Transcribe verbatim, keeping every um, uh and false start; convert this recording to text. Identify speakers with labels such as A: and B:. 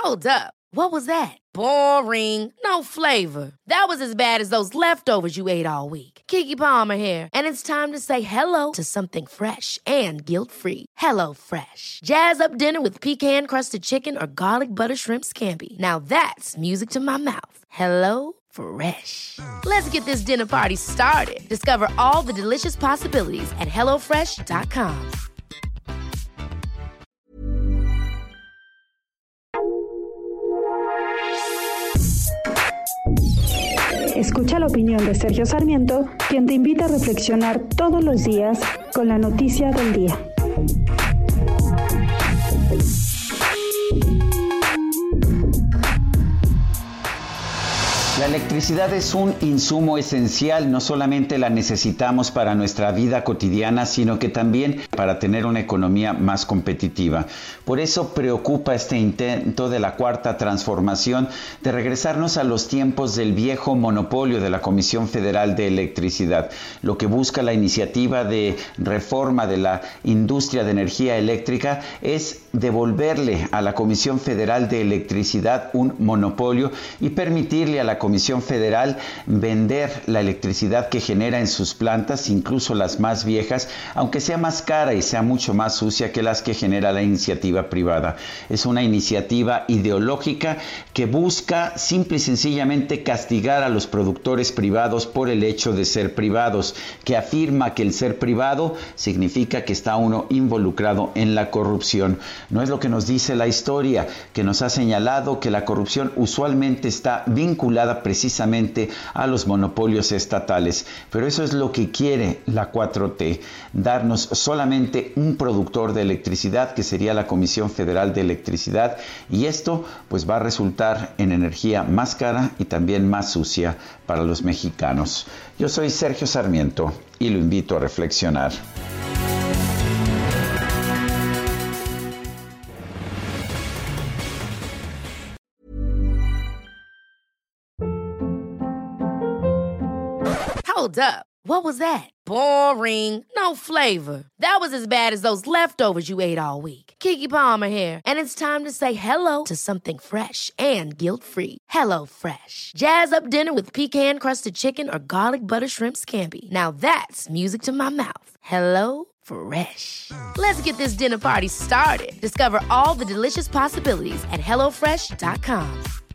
A: Hold up. What was that? Boring. No flavor. That was as bad as those leftovers you ate all week. Keke Palmer here, and it's time to say hello to something fresh and guilt-free. Hello Fresh. Jazz up dinner with pecan-crusted chicken or garlic butter shrimp scampi. Now that's music to my mouth. Hello Fresh. Let's get this dinner party started. Discover all the delicious possibilities at hello fresh dot com.
B: Escucha la opinión de Sergio Sarmiento, quien te invita a reflexionar todos los días con la noticia del día.
C: La electricidad es un insumo esencial, no solamente la necesitamos para nuestra vida cotidiana, sino que también para tener una economía más competitiva. Por eso preocupa este intento de la Cuarta Transformación de regresarnos a los tiempos del viejo monopolio de la Comisión Federal de Electricidad. Lo que busca la iniciativa de reforma de la industria de energía eléctrica es devolverle a la Comisión Federal de Electricidad un monopolio y permitirle a la Comisión Federal vender la electricidad que genera en sus plantas, incluso las más viejas, aunque sea más cara y sea mucho más sucia que las que genera la iniciativa privada. Es una iniciativa ideológica que busca simple y sencillamente castigar a los productores privados por el hecho de ser privados, que afirma que el ser privado significa que está uno involucrado en la corrupción. No es lo que nos dice la historia, que nos ha señalado que la corrupción usualmente está vinculada precisamente a los monopolios estatales, pero eso es lo que quiere la cuatro T, darnos solamente un productor de electricidad, que sería la Comisión Federal de Electricidad, y esto pues va a resultar en energía más cara y también más sucia para los mexicanos. Yo soy Sergio Sarmiento y lo invito a reflexionar.
A: Hold up. What was that? Boring. No flavor. That was as bad as those leftovers you ate all week. Keke Palmer here, and it's time to say hello to something fresh and guilt-free. Hello Fresh. Jazz up dinner with pecan-crusted chicken or garlic butter shrimp scampi. Now that's music to my mouth. Hello Fresh. Let's get this dinner party started. Discover all the delicious possibilities at hello fresh dot com.